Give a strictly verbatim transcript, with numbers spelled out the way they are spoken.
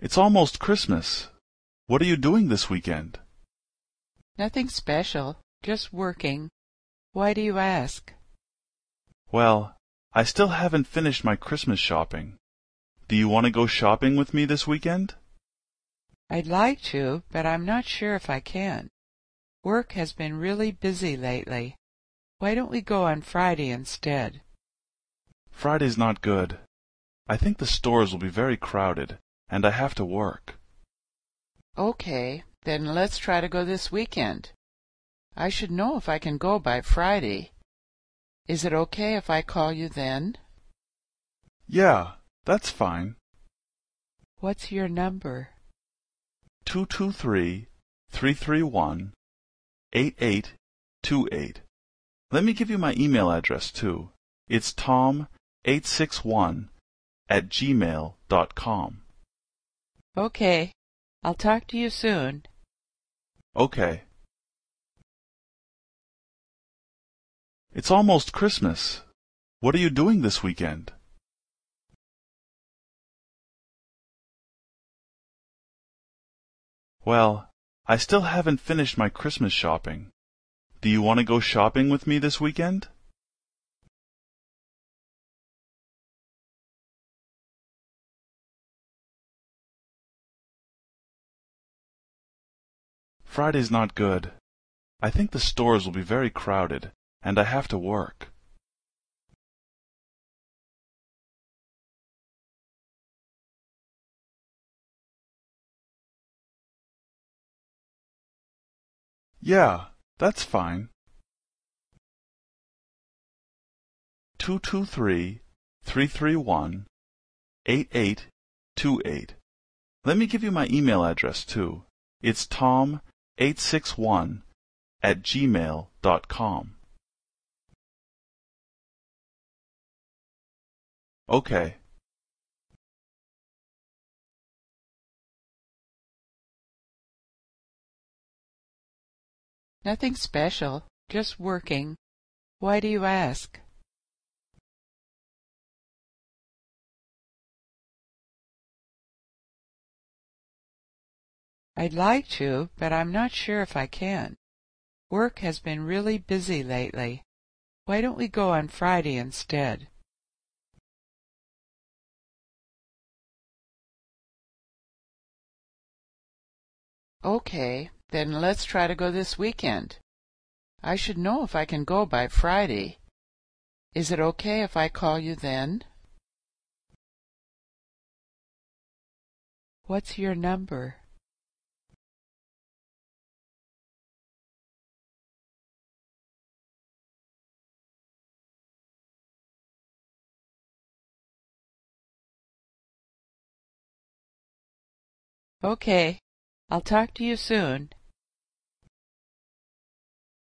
It's almost Christmas. What are you doing this weekend? Nothing special, just working. Why do you ask? Well, I still haven't finished my Christmas shopping. Do you want to go shopping with me this weekend? I'd like to, but I'm not sure if I can. Work has been really busy lately. Why don't we go on Friday instead? Friday's not good. I think the stores will be very crowded, and I have to work. Okay, then let's try to go this weekend. I should know if I can go by Friday. Is it okay if I call you then? Yeah, that's fine. What's your number? Two two three, three three one, eight eight two eight. Let me give you my email address too. It's tom eight six one at gmail dot com. Okay, I'll talk to you soon. Okay. It's almost Christmas. What are you doing this weekend? Well, I still haven't finished my Christmas shopping. Do you want to go shopping with me this weekend? Friday's not good. I think the stores will be very crowded, and I have to work. Yeah, that's fine. Two two three, three three one, eight eight two eight. Let me give you my email address too. It's tom eight six one at gmail dot com. Okay. Nothing special, just working. Why do you ask? I'd like to, but I'm not sure if I can. Work has been really busy lately. Why don't we go on Friday instead? Okay, then let's try to go this weekend. I should know if I can go by Friday. Is it okay if I call you then? What's your number? Okay, I'll talk to you soon.